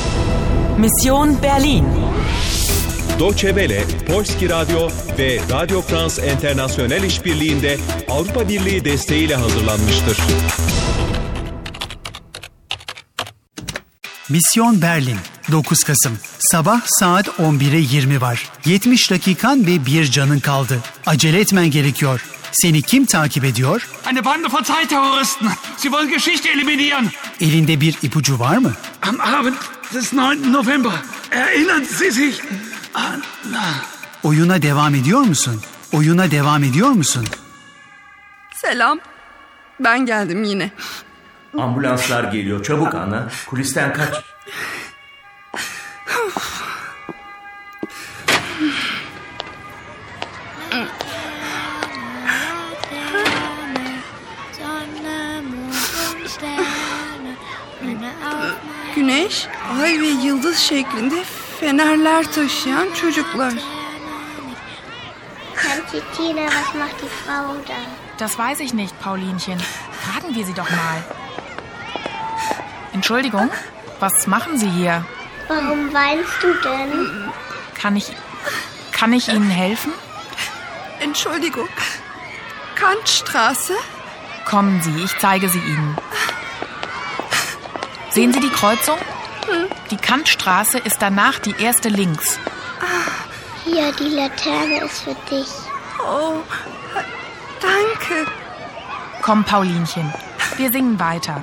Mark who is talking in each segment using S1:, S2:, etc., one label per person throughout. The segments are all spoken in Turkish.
S1: Mission Berlin.
S2: Deutsche Welle, Polski Radyo ve Radio France International işbirliğinde Avrupa Birliği desteğiyle hazırlanmıştır.
S3: Mission Berlin, 9 Kasım. Sabah saat 11'e 20 var. 70 dakikan ve bir canın kaldı. Acele etmen gerekiyor. Seni kim takip ediyor?
S4: Eine Bande von Zeitterroristen. Sie wollen Geschichte eliminieren.
S3: Elinde bir ipucu var mı?
S4: Am Abend des 9. November. Erinnern Sie sich? Anna.
S3: Oyuna devam ediyor musun? Oyuna devam ediyor musun?
S5: Selam. Ben geldim yine.
S6: Ambulanslar geliyor. Çabuk Ana. Kulisten kaç.
S5: Güneş, ay ve yıldız şeklinde fenerler taşıyan çocuklar.
S7: Tante Tina, was macht die Frau da?
S8: Das weiß ich nicht, Paulinchen. Fragen wir sie doch mal. Entschuldigung, was machen Sie hier?
S7: Warum weinst du denn?
S8: Kann ich Ihnen helfen?
S5: Entschuldigung. Kantstraße?
S8: Kommen Sie, ich zeige sie Ihnen. Sehen Sie die Kreuzung? Die Kantstraße ist danach die erste links.
S7: Hier, die Laterne ist für dich.
S5: Oh, danke.
S8: Komm, Paulinchen, wir singen weiter.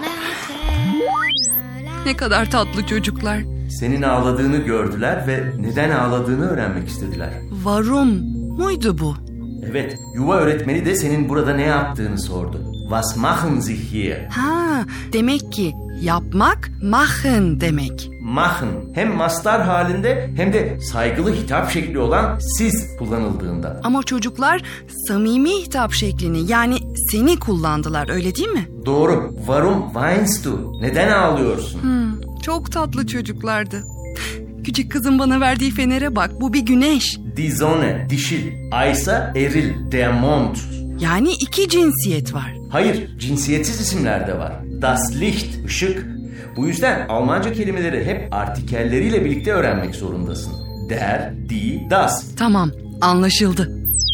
S5: Ne kadar tatlı çocuklar.
S6: Senin ağladığını gördüler ve neden ağladığını öğrenmek istediler.
S5: Varum muydu bu?
S6: Evet, yuva öğretmeni de senin burada ne yaptığını sordu. Was machen Sie hier?
S5: Ha, demek ki yapmak, machen demek.
S6: Machen hem mastar halinde hem de saygılı hitap şekli olan siz kullanıldığında.
S5: Ama çocuklar samimi hitap şeklini yani seni kullandılar, öyle değil mi?
S6: Doğru. Warum weinst du? Neden ağlıyorsun?
S5: Çok tatlı çocuklardı. Küçük kızın bana verdiği fenere bak, bu bir güneş.
S6: Die Sonne, dişil. Aysa eril, der Mond.
S5: Yani iki cinsiyet var.
S6: Hayır, cinsiyetsiz isimler de var. Das Licht, ışık. Bu yüzden Almanca kelimeleri hep artikelleriyle birlikte öğrenmek zorundasın. Der, die, das.
S5: Tamam, anlaşıldı.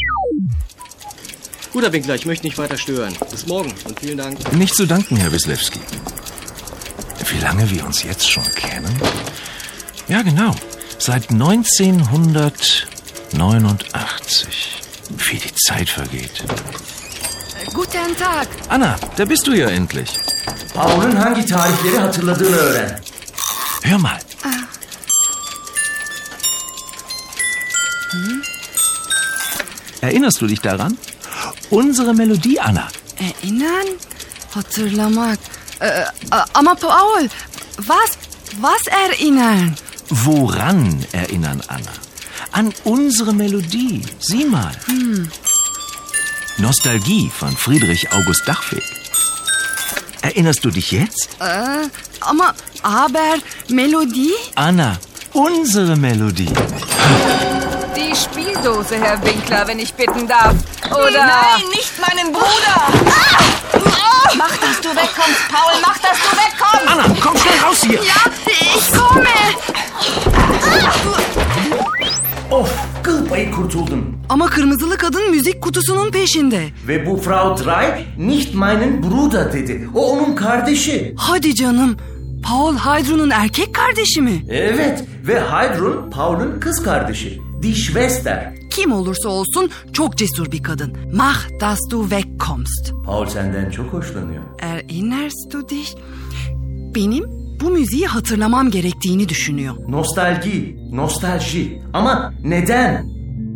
S9: Guter Winkler, ich möchte nicht weiter stören. Bis morgen und vielen Dank.
S10: Nicht zu danken, Herr Wislewski. Wie lange wir uns jetzt schon kennen? Ja, genau. Seit 1989. Wie die Zeit vergeht.
S5: Guten Tag.
S10: Anna, da bist du ja endlich.
S6: Paul'un hangi tarihleri hatırladığını öğren.
S10: Hör mal. Erinnerst du dich daran? Unsere Melodie, Anna.
S5: Erinnern, hatırlamak. Ama Paul, was erinnern?
S10: Woran erinnern, Anna? An unsere Melodie. Sieh mal. Nostalgie von Friedrich August Dachweg. Erinnerst du dich jetzt?
S5: Aber Melodie?
S10: Anna, unsere Melodie.
S11: Die Spieldose, Herr Winkler, wenn ich bitten darf. Oder...
S1: Nein, nicht meinen Bruder! Mach, dass du wegkommst, Paul, mach, dass du wegkommst!
S10: Anna, komm schnell raus hier!
S5: Ja, ich komme!
S6: Of, kıl payı kurtuldum.
S5: Ama kırmızılı kadın müzik kutusunun peşinde.
S6: Ve bu Frau Drey, nicht meinen Bruder dedi. O onun kardeşi.
S5: Hadi canım. Paul Heidrun'un erkek kardeşi mi?
S6: Evet ve Heidrun Paul'un kız kardeşi. Die Schwester.
S5: Kim olursa olsun çok cesur bir kadın. Mach, dass du wegkommst.
S6: Paul senden çok hoşlanıyor.
S5: Erinnerst du dich? Benim bu müziği hatırlamam gerektiğini düşünüyor.
S6: Nostalji. Ama neden?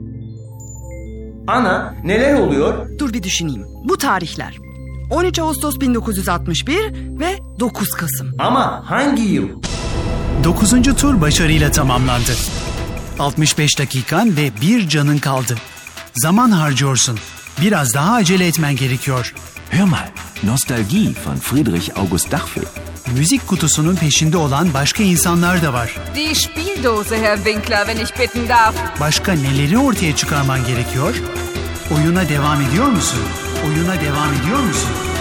S6: Ana, neler oluyor?
S5: Dur bir düşüneyim. Bu tarihler. 13 Ağustos 1961 ve 9 Kasım.
S6: Ama hangi yıl?
S3: 9. tur başarıyla tamamlandı. 65 dakikan ve bir canın kaldı. Zaman harcıyorsun. Biraz daha acele etmen gerekiyor.
S10: Hör mal, Nostalgie von Friedrich August Dachweg.
S3: Müzik kutusunun peşinde olan başka insanlar da var.
S11: Die Spieldose, Herr Winkler, wenn ich bitten darf.
S3: Başka neleri ortaya çıkarman gerekiyor? Oyuna devam ediyor musun? Oyuna devam ediyor musun?